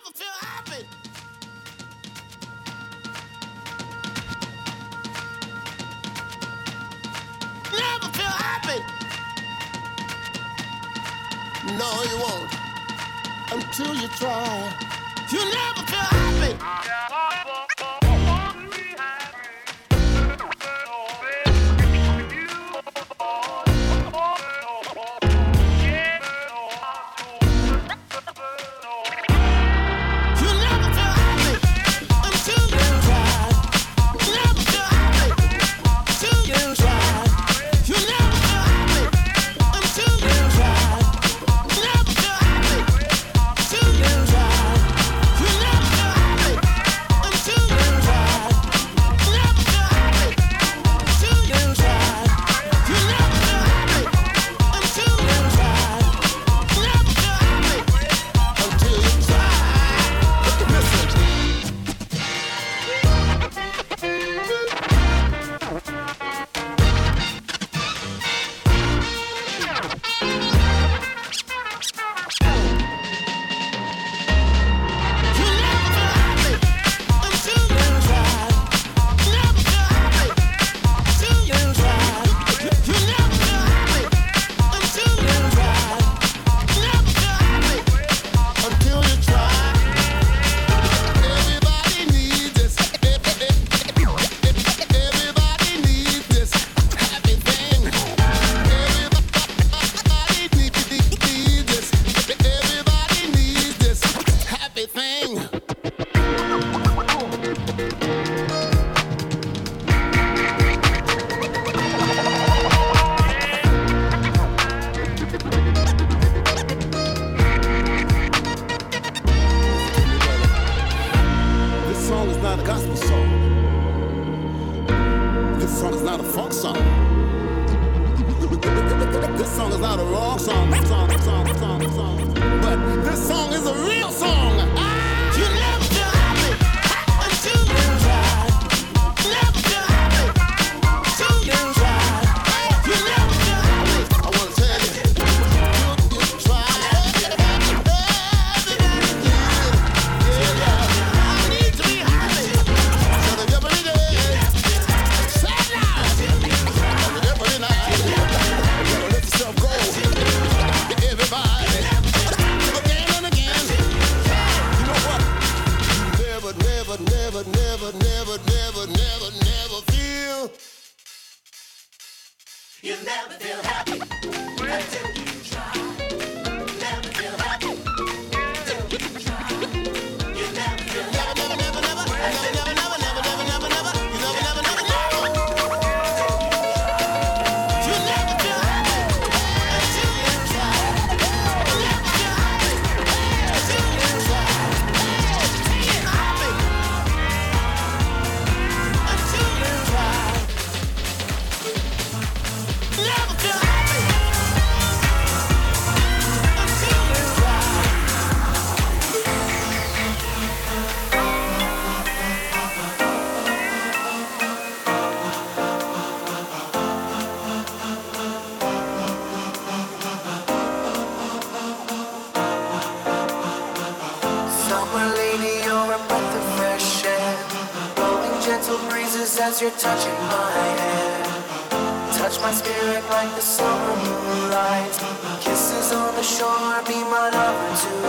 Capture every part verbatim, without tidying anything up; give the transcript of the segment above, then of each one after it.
as you're touching my hand. Touch my spirit like the summer moonlight. Kisses on the shore, be my lover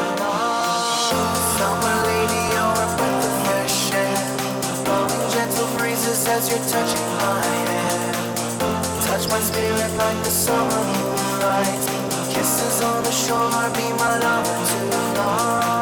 tonight. Summer lady, you're a breath of fresh air. Blowing gentle breezes as you're touching my hand. Touch my spirit like the summer moonlight. Kisses on the shore, be my lover tonight.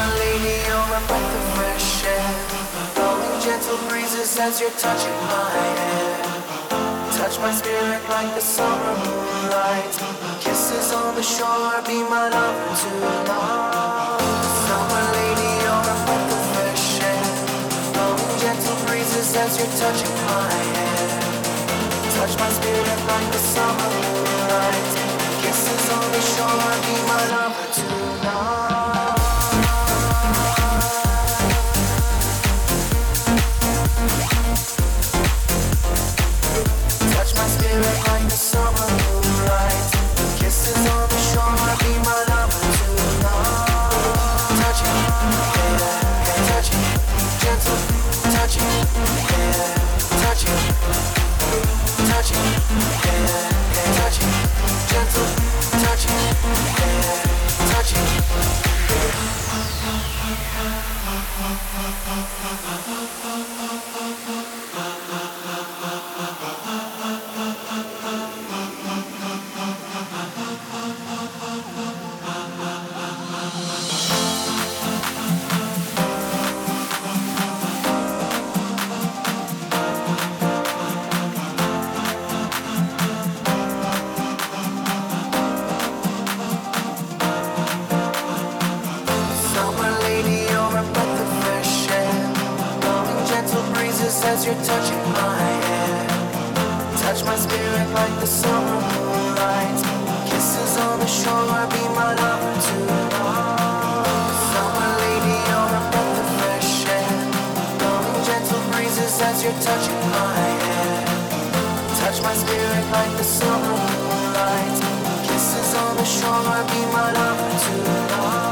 Summer lady, you're a breath of fresh air. Blowing gentle breezes as you're touching my hair. Touch my spirit like the summer moonlight. Kisses on the shore, be my lover tonight. Summer lady, you're a breath of fresh air. Blowing gentle breezes as you're touching my hair. Touch my spirit like the summer moonlight. Kisses on the shore, be my lover tonight. Touch my spirit like the summer moonlight. Kisses on the shore, be my lover tonight. Touch it, yeah, yeah, touch it, gentle, touch it, yeah, touch it, touch it, yeah, yeah, touch it, gentle, touch it, yeah, touch it. As you're touching my hair, touch my spirit like the summer moonlight. Kisses on the shore, be my lover tonight. Summer lady, you're a breath of fresh air. Blowing gentle breezes as you're touching my hair. Touch my spirit like the summer moonlight. Kisses on the shore, be my lover tonight.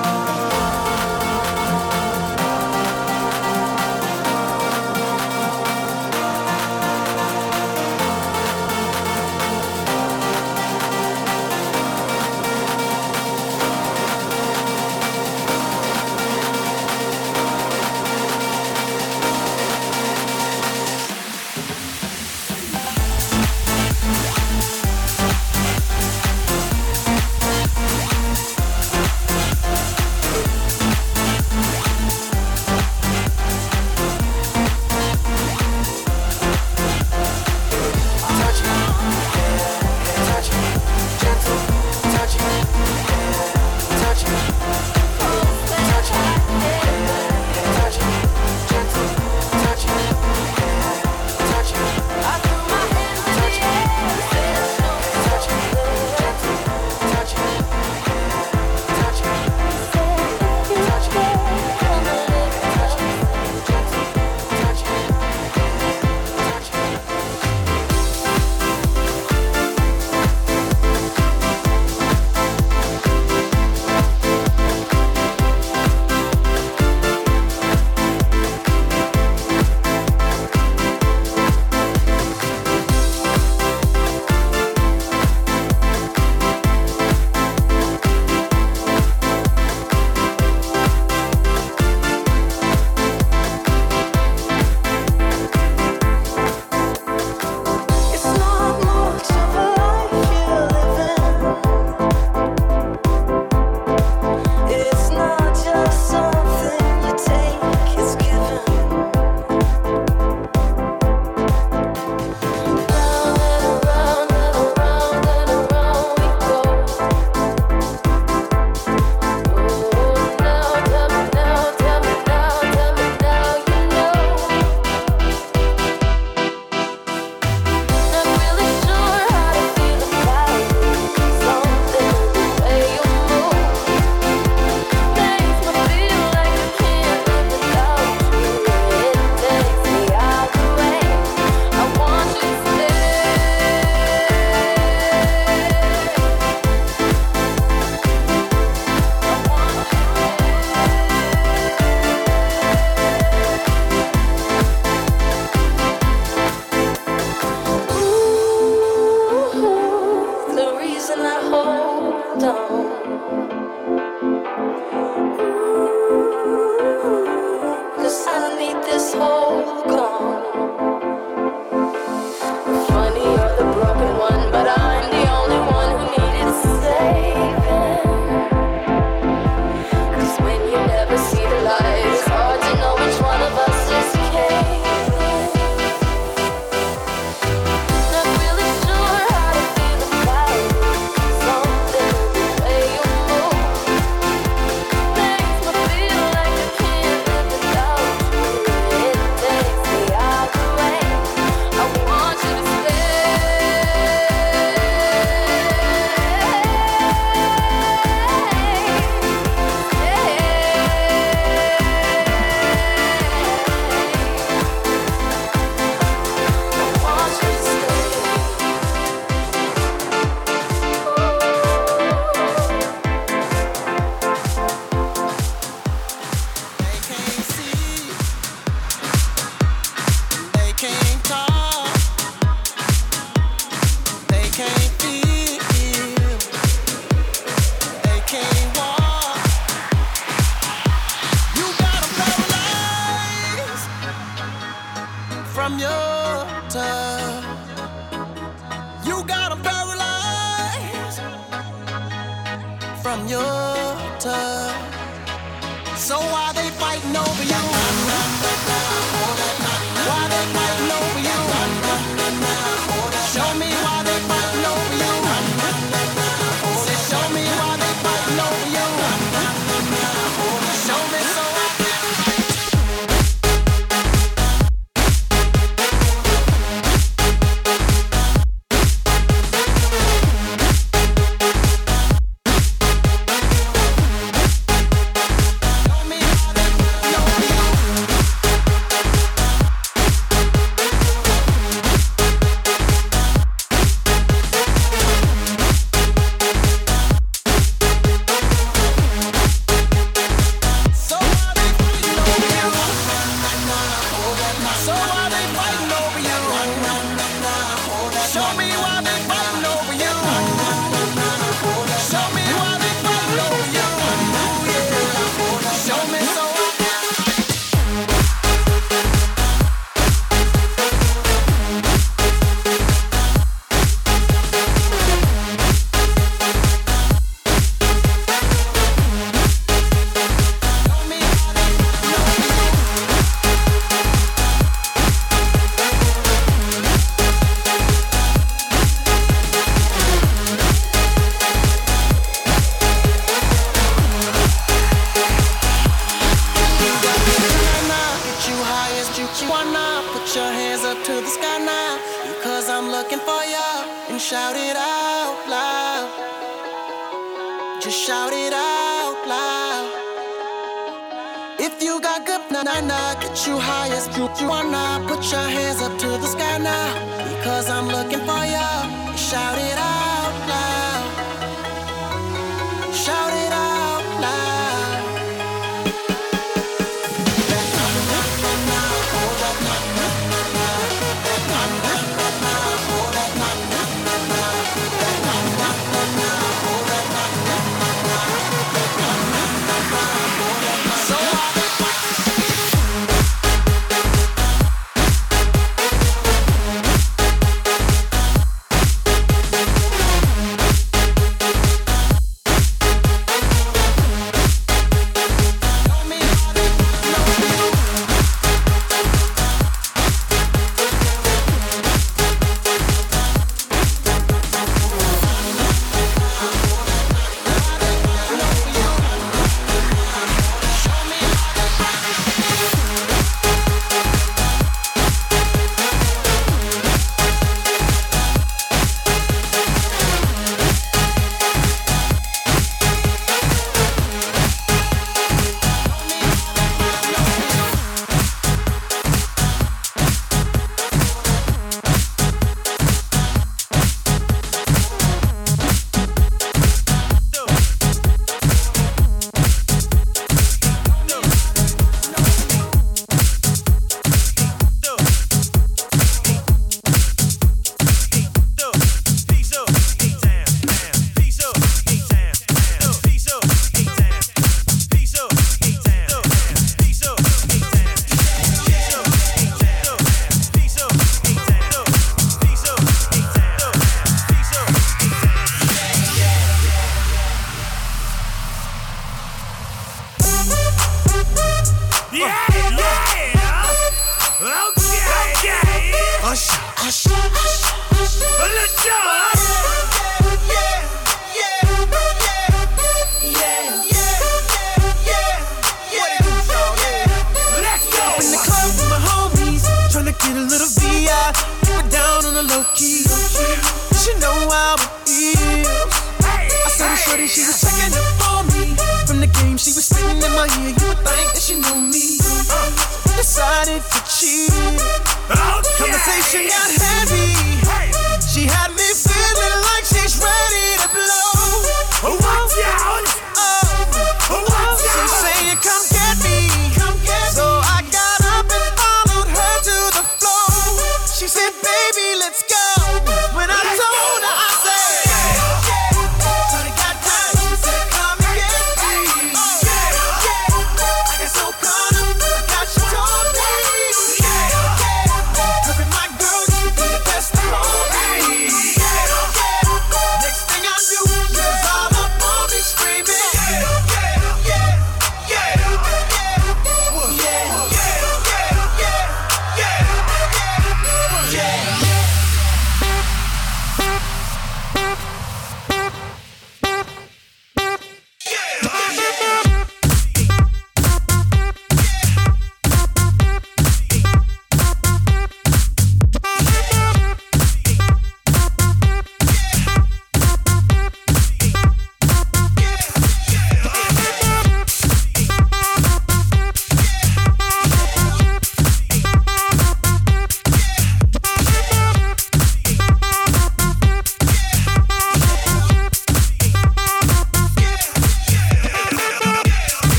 from your touch. You got 'em paralyzed from your touch. So why they fighting over you? Why they fighting over you? Show me why they fighting over you. Say, show me why they fighting over you. Show me so I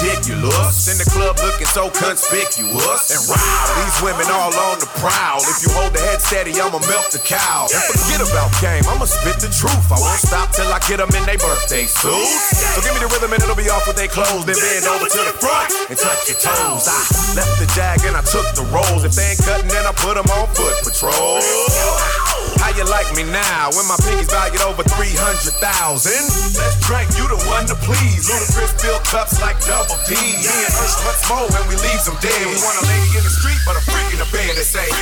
ridiculous. In the club looking so conspicuous. And wow, these women all on the prowl. If you hold the head steady, I'ma milk the cow. And forget about game, I'ma spit the truth. I won't stop till I get them in their birthday suits. So give me the rhythm and it'll be off with their clothes. Then bend over to the front and touch your toes. I left the jag and I took the rolls. If they ain't cutting, then I put them on foot patrol. How you like me now when my pinky's valued over three hundred thousand? Let's drink, you the one to please. Ludacris fill cups like double D. Me and us much more when we leave them dead. We want a lady in the street, but a freak in the bed that say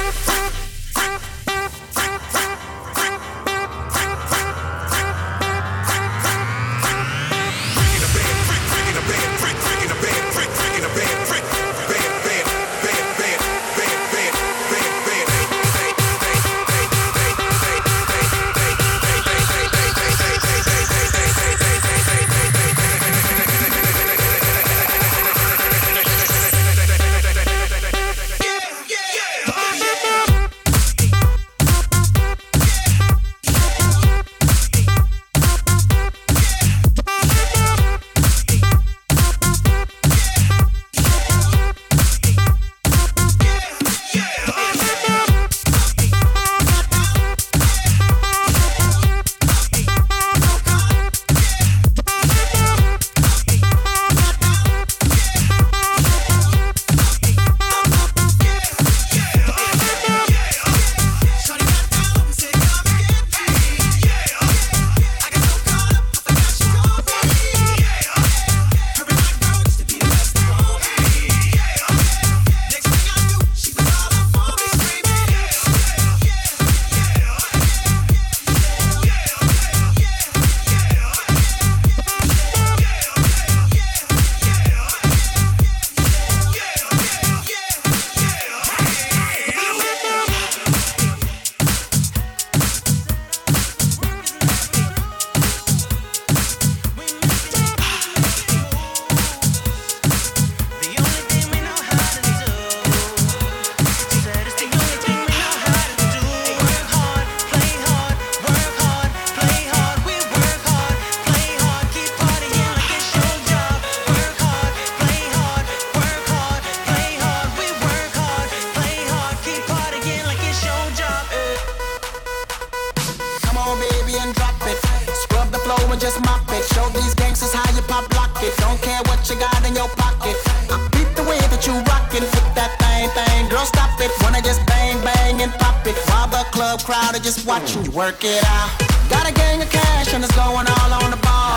watching you work it out. Got a gang of cash and it's going all on the ball.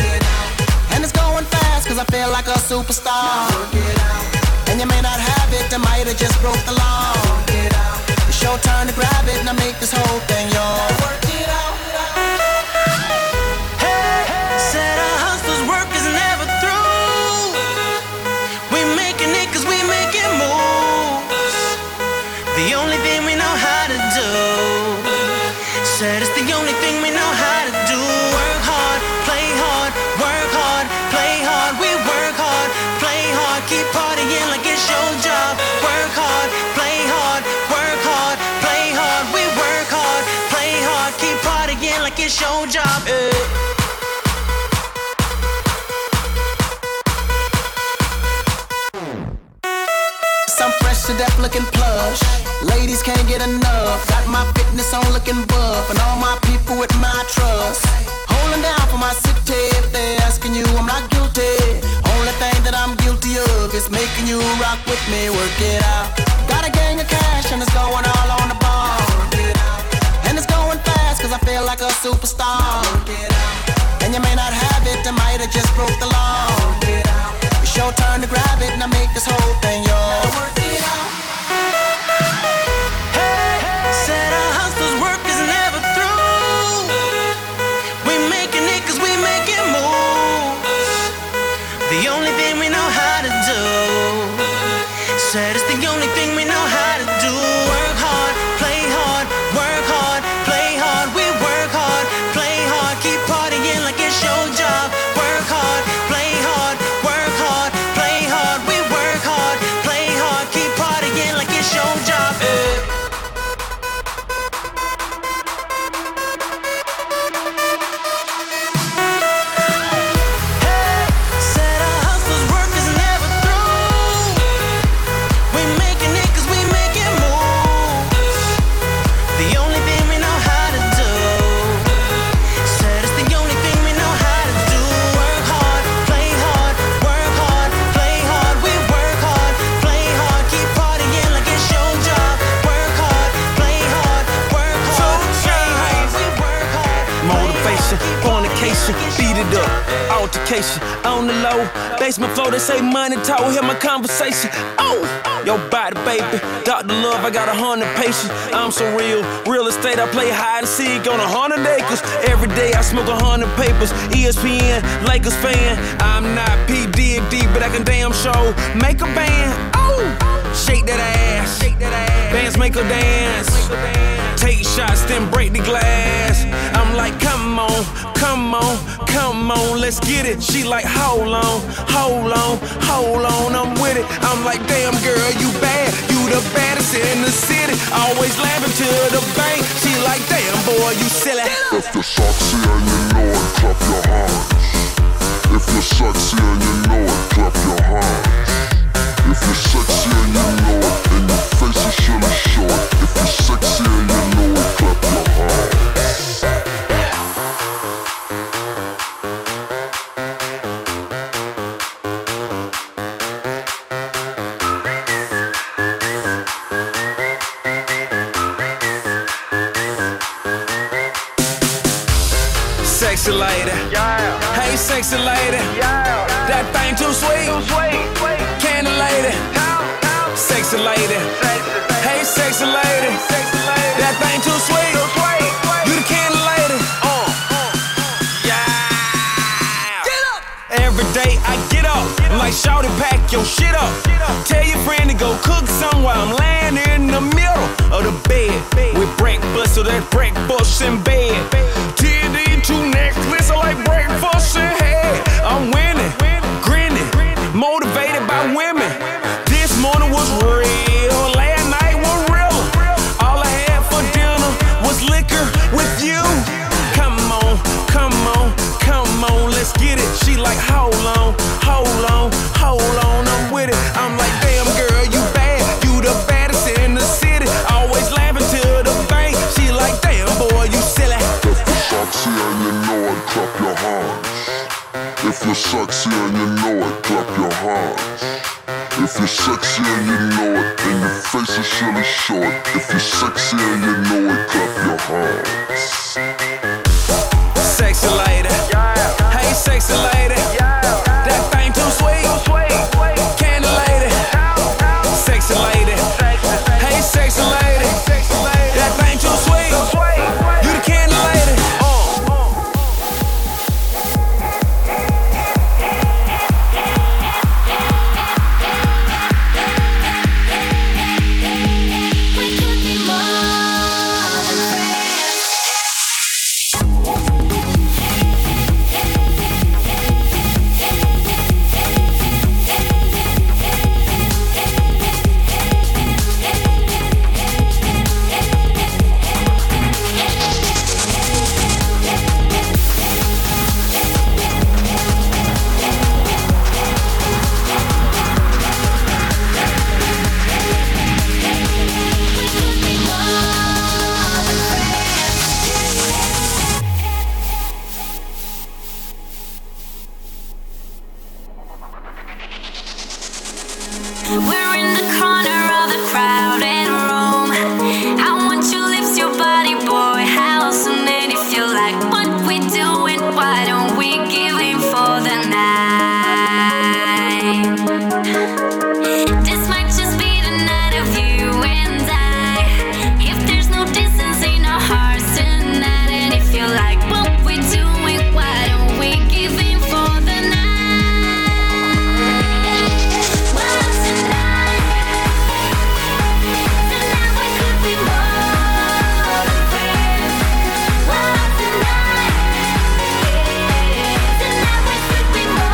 And it's going fast cause I feel like a superstar. And you may not have it, I might have just broke the law. It's your turn to grab it and I make this whole thing yours. Hey, said our hustler's work is never through. We making it cause we making moves. The only thing we know how to do. Said it's the only thing we know how to do. Work hard, play hard, work hard, play hard. We work hard, play hard, keep partying like it's your job. Work hard, play hard, work hard, play hard. We work hard, play hard, keep partying like it's your job. Hey. I'm fresh to death looking plush. Ladies can't get enough. Got my fitness on looking buff. And all my people with my trust. Holding down for my city. If they're asking you, I'm not guilty. Only thing that I'm guilty of is making you rock with me. Work it out. Got a gang of cash and it's going all on the ball. And it's going fast cause I feel like a superstar. And you may not have it, I might have just broke the law. It's your turn to grab it and I make this whole thing yours. Hey, said our hustler's work is never through. We making it cause we making moves. The only thing we know how to do. Said it's the only thing we know how to do. Work hard, play hard, work hard, play hard. We work hard, play hard, keep partying like it's your job. Work hard, play hard, work hard, play hard. We work hard, play hard, keep fornication, beat it up, altercation, on the low, basement floor, they say money talk, hear my conversation, oh, your body, baby, Doctor Love, I got a hundred patients, I'm so real, real estate, I play hide and seek on a hundred acres, every day I smoke a hundred papers, E S P N, Lakers fan, I'm not P. Diddy, but I can damn show, make a band, oh, shake that ass, shake that ass, bands make her dance, take shots, then break the glass, I'm like, come on, come on, come on, let's get it, she like, hold on, hold on, hold on, I'm with it, I'm like, damn girl, you bad, you the baddest in the city, always laughing to the bank, she like, damn boy, you silly. If you're sexy and you know it, clap your hands. If you're sexy and you know it, clap your hands. If you're sexy and you know it, and your face is really short. If you're sexy and you know it, clap your hands. Sexy lady, yeah. Hey sexy lady, yeah. That thing too sweet, too sweet. Candy lady, sexy lady, hey sexy lady, that thing too sweet, you the candy lady, uh. Yeah. Every day I get up, I'm like shawty pack your shit up. Tell your friend to go cook somewhere, I'm laying in the middle of the bed with breakfast, so that's breakfast in bed. T D two necklace, I like breakfast in head. I'm winning, grinning, motivated by women. This morning was real, last night was real. All I had for dinner was liquor with you. Come on, come on, come on, let's get it. She like, hold on, hold on, hold on, I'm with it. I'm like, damn girl, you bad, you the baddest in the city. Always laughing to the bank. She like, damn boy, you silly. Sexy and you know it, clap your hands. If you're sexy and you know it, clap your hands. If you're sexy and you know it, and your face is really short. If you're sexy and you know it, clap your hands. Sexy lady, yeah. Hey sexy lady, yeah. That thing too sweet, too sweet. Candy lady, sexy lady, hey sexy lady, that thing too sweet, you the candy lady. We're in the corner of the crowded room. I want your lips, your body, boy. How soon? And if you like what we doing, why don't we give in for the night? This might just be the night of you and I. If there's no distance in our hearts tonight, and if you like what we doing, why don't we give in for the night? Tonight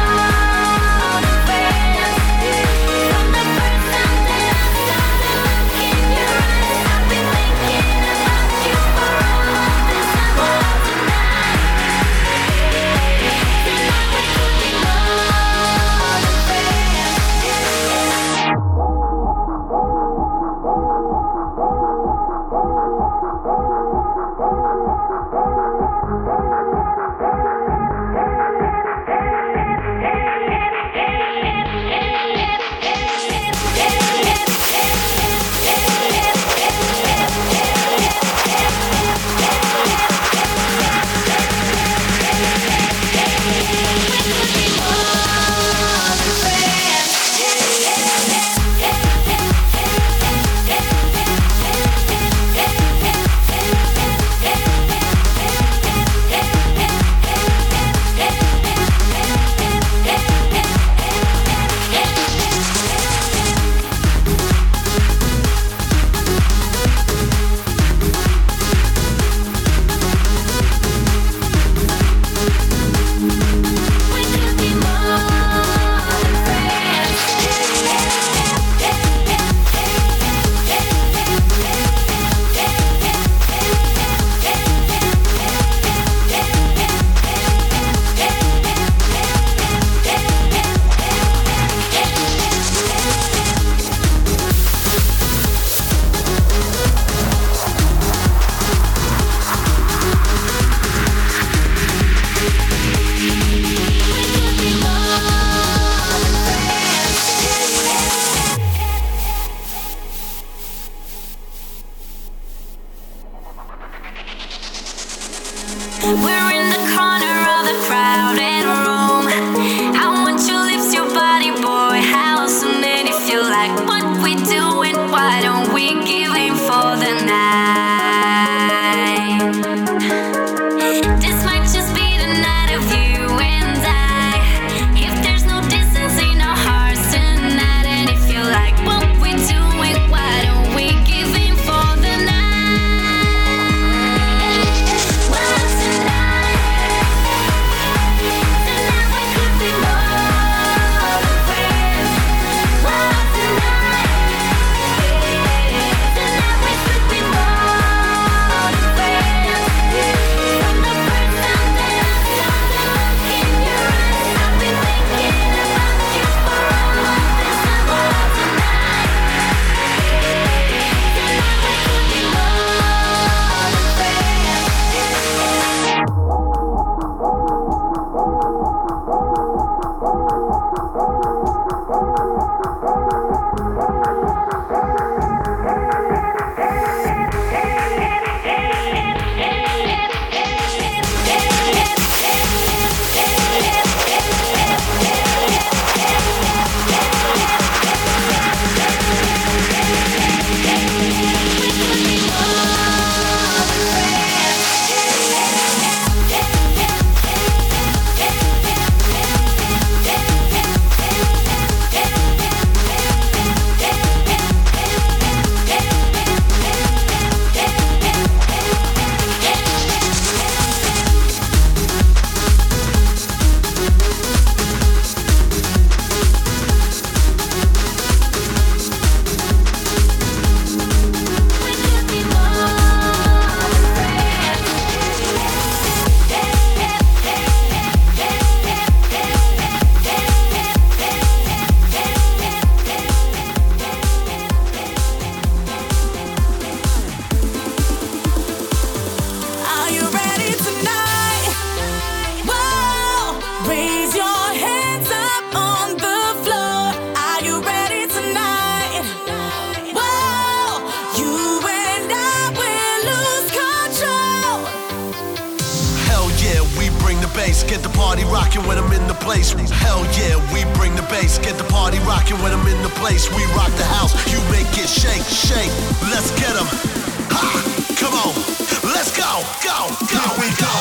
party rocking when I'm in the place. Hell yeah, we bring the bass. Get the party rocking when I'm in the place. We rock the house, you make it shake, shake. Let's get 'em. Ha! Come on, let's go, go, go, we go.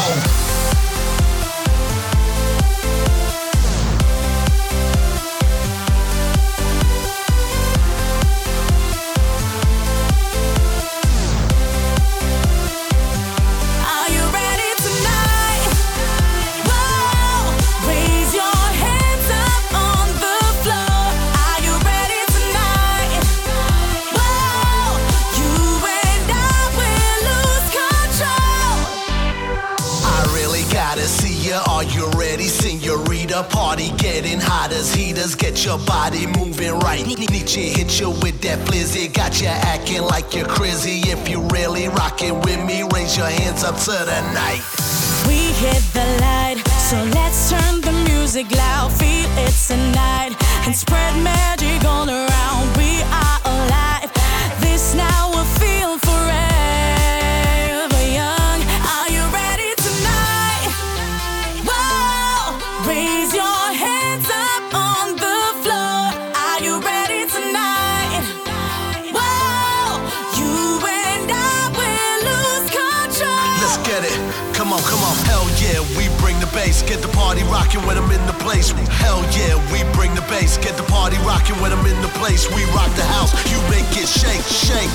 Party getting hot as heaters, get your body moving right. Nietzsche hit you with that flizzy, got you acting like you're crazy. If you really rockin' with me, raise your hands up to the night. We hit the light, so let's turn the music loud. Feel it's a night and spread magic all around. We are alive, this now will feel forever young. Are you ready tonight? Whoa, raise your hands up on the floor. Are you ready tonight? Whoa, you and I will lose control. Let's get it, come on, come on. Hell yeah, we bring the bass. Get the party rocking when I'm in the place. Hell yeah, we bring the bass. Get the party rocking when I'm in the place. We rock the house, you make it shake, shake.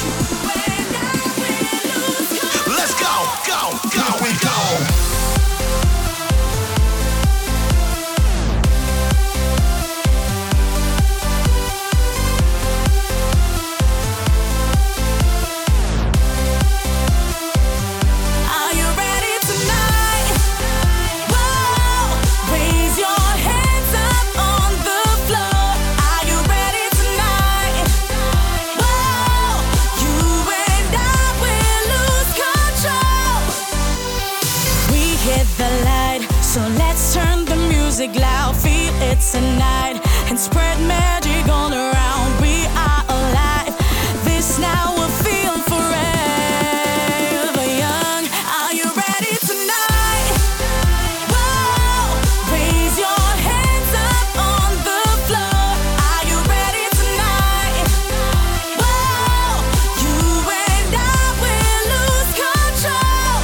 Let's go, go, go, we go. Loud, feel it's a night and spread magic all around. We are alive, this now will feel forever young. Are you ready tonight? Whoa, raise your hands up on the floor. Are you ready tonight? Whoa, you and I will lose control.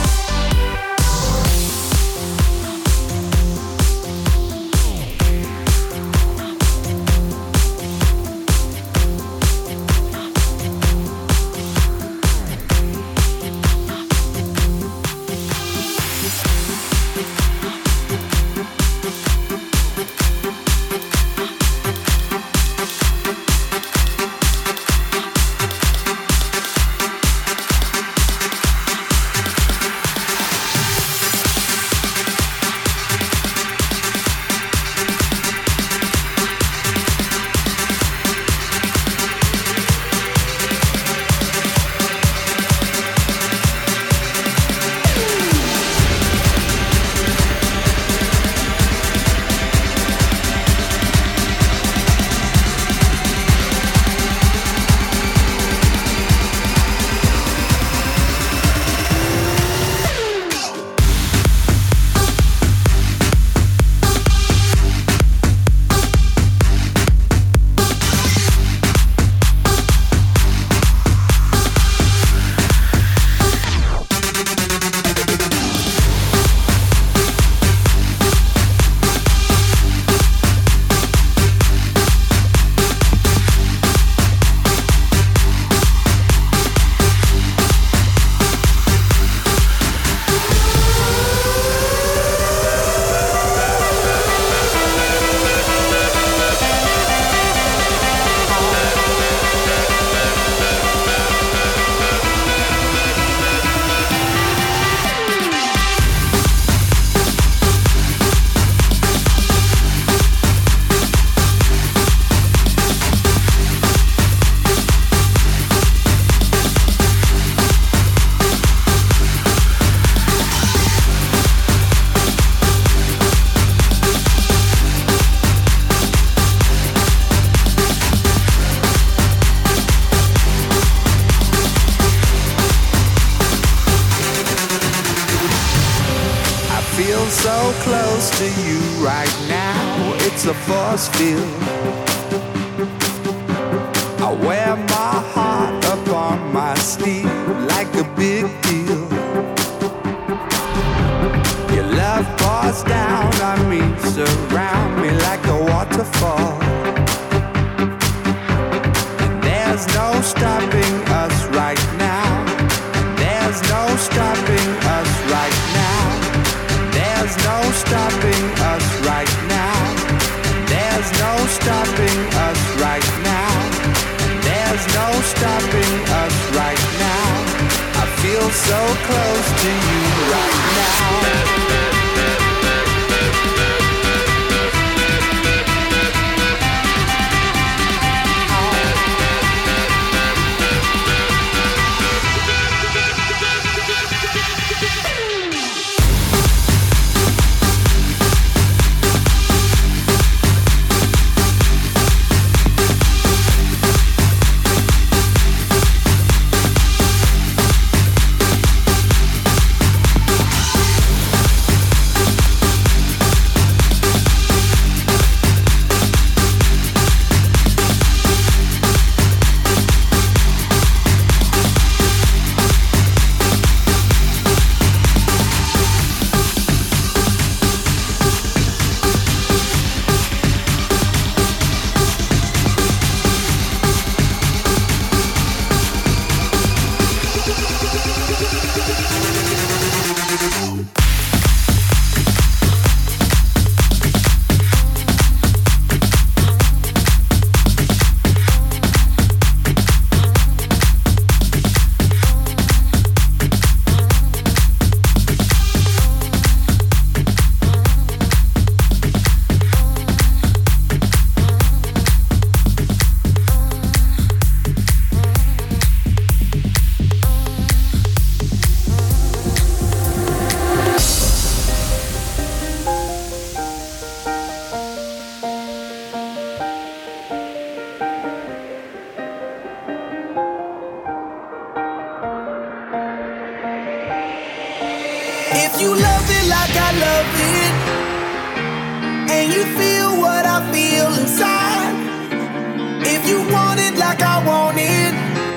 right now. It's a force field. I wear my heart up on my sleeve like a big deal. Your love pours down on me, surround me like a waterfall. And there's no stopping us right now. There's no stopping us right now. There's no stopping us right now. There's no stopping us right now. There's no stopping us right now. I feel so close to you right now. If you love it like I love it, and you feel what I feel inside, if you want it like I want it,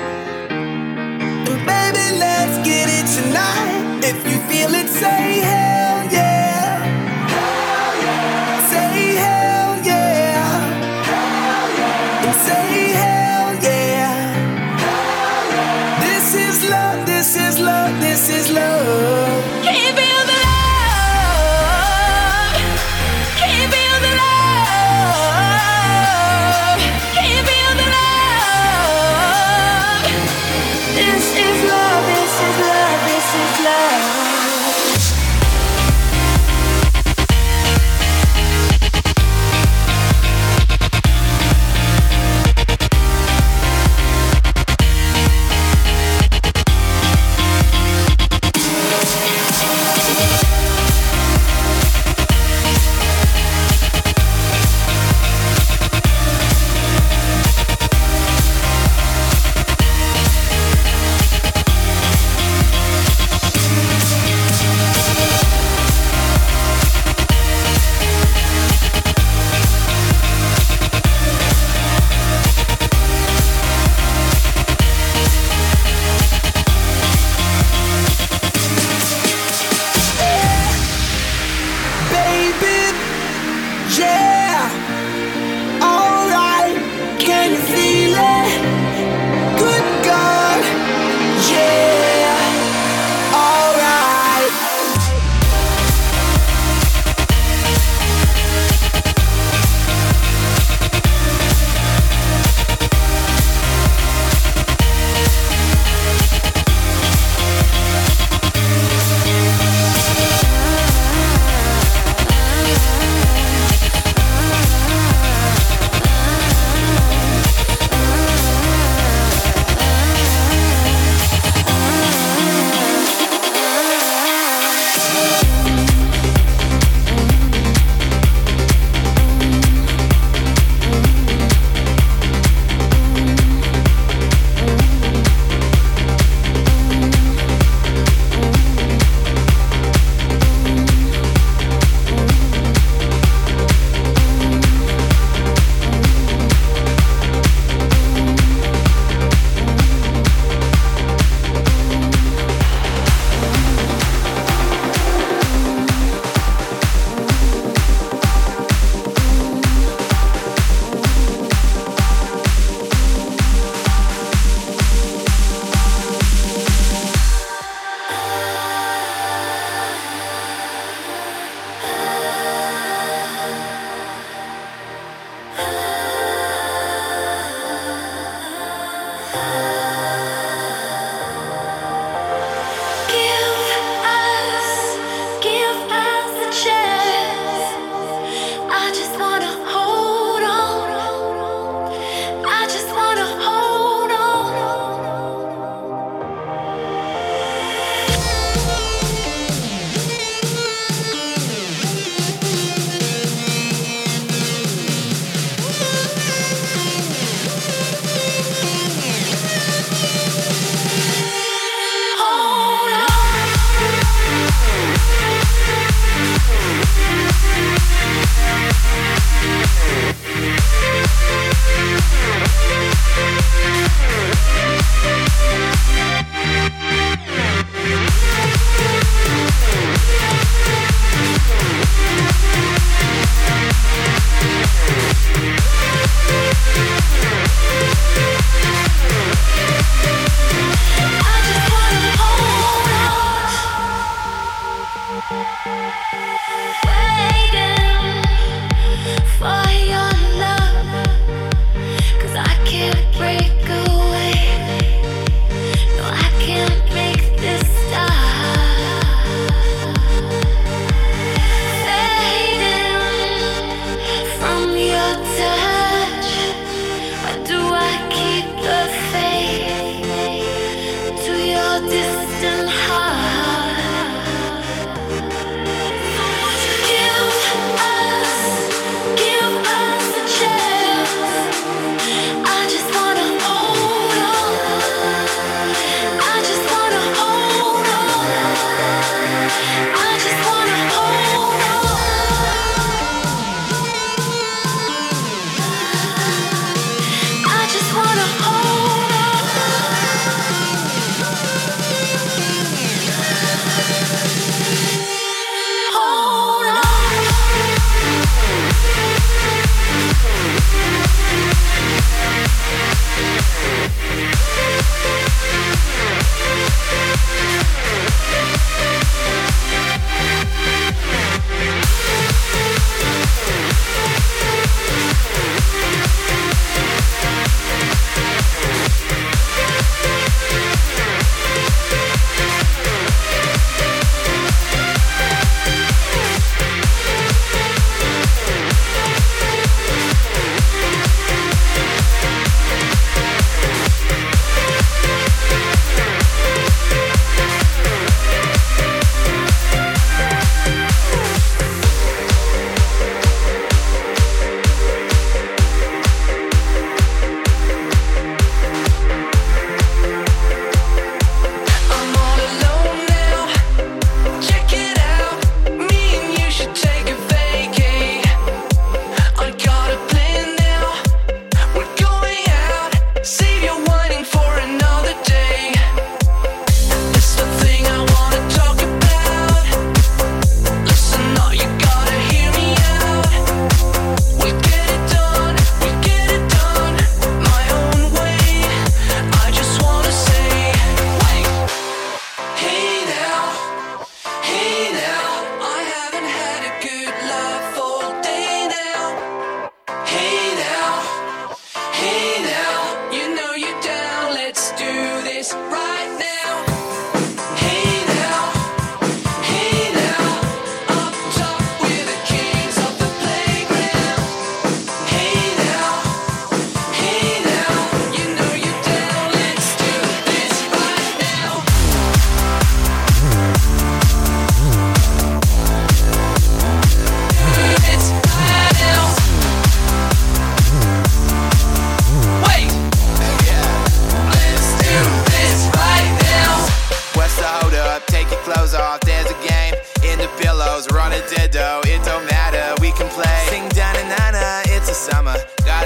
then baby, let's get it tonight. If you feel it, say hell yeah. Hell yeah. Say hell yeah. Hell yeah. And say hell yeah. Hell yeah. This is love, this is love, this is love. Can you feel the love? Can you feel the love? Can you feel the love? This is love, this is love, this is love.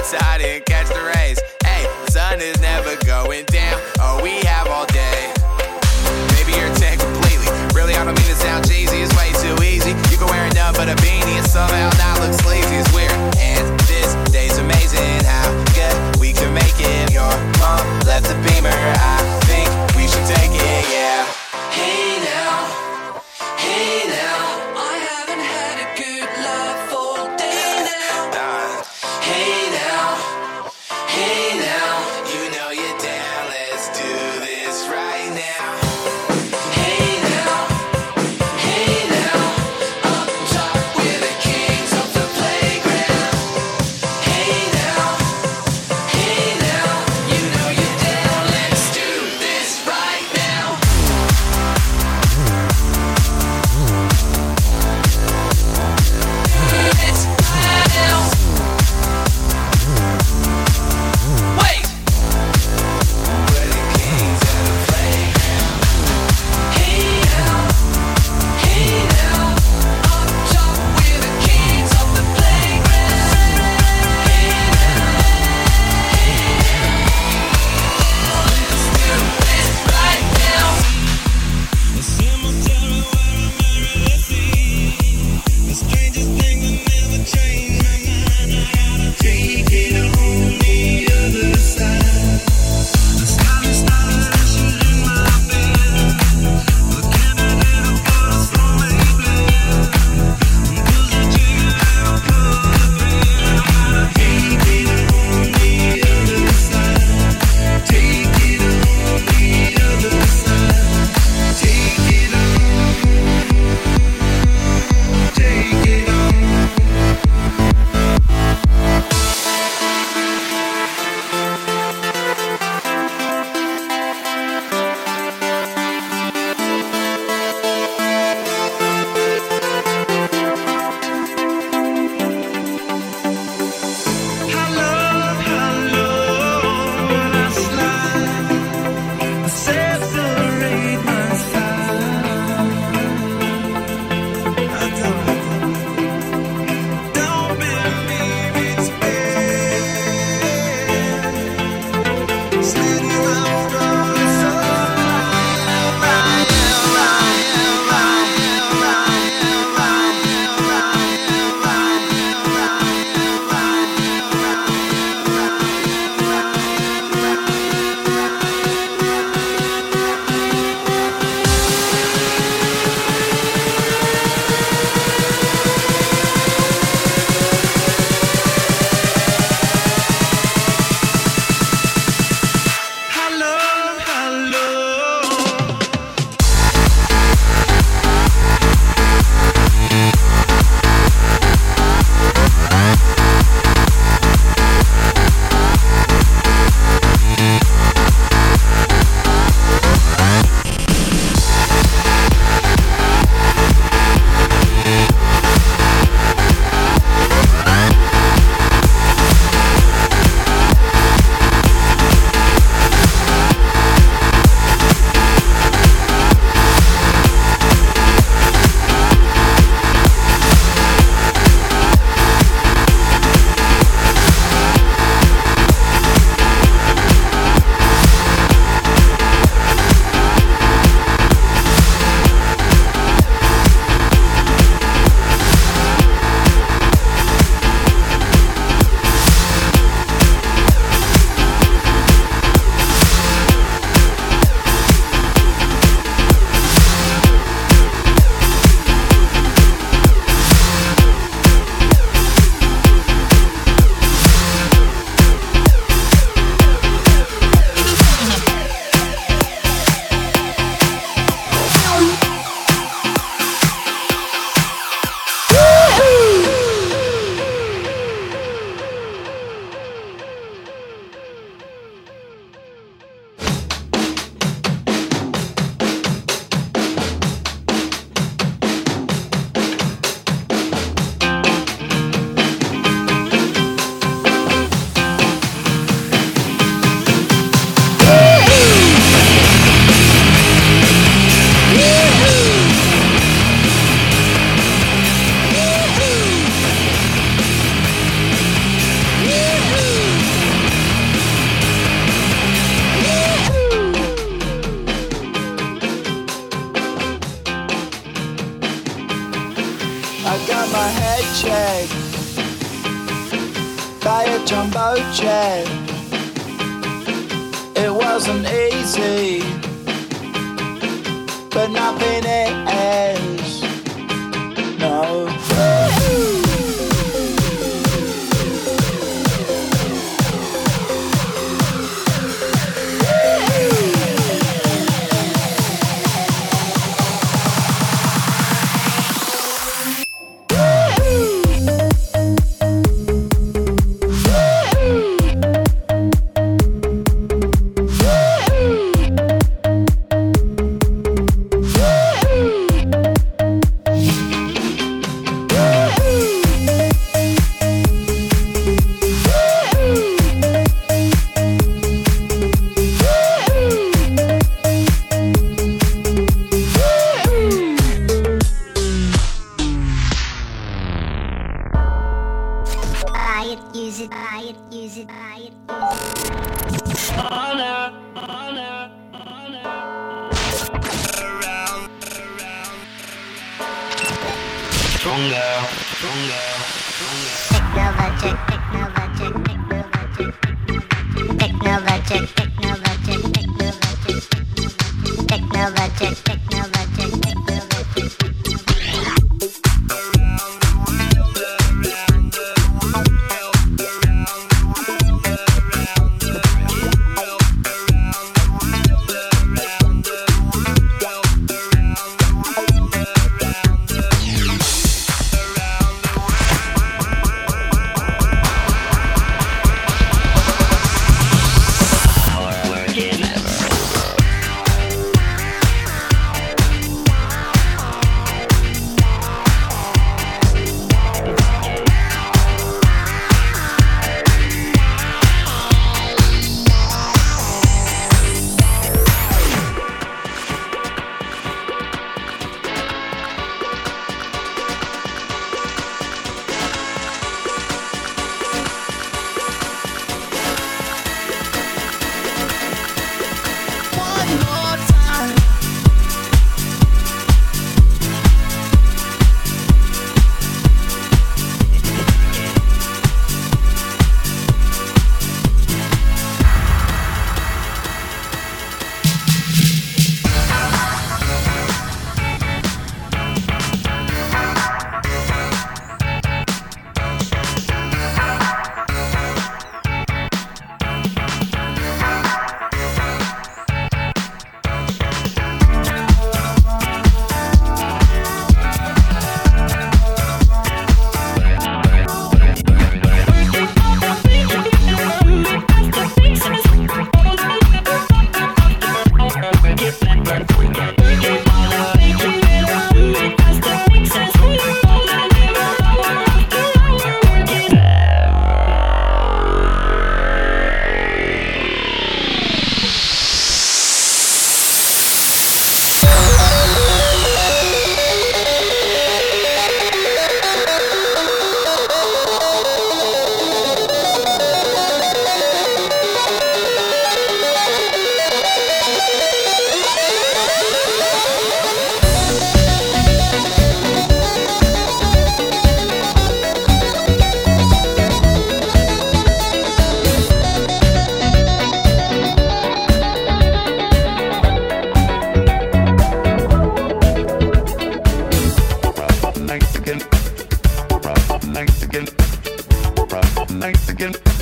outside and catch the rays. Hey, the sun is never going down. Oh, we have all day. Maybe you're tan completely. Really, I don't mean to sound cheesy. It's way too easy. You can wear nothing but a beanie and somehow not look sleazy. It's weird. And this day's amazing. How good we can make it. Your mom left the Beamer. I think we should take it. Yeah. Hey now. Hey now. I haven't had a good laugh all day now. Hey now. Hey now. You know you're down. Let's jet by a jumbo jet. It wasn't easy, but nothing is. No.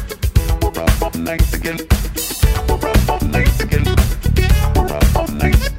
Nice again. Nice again. Nice again.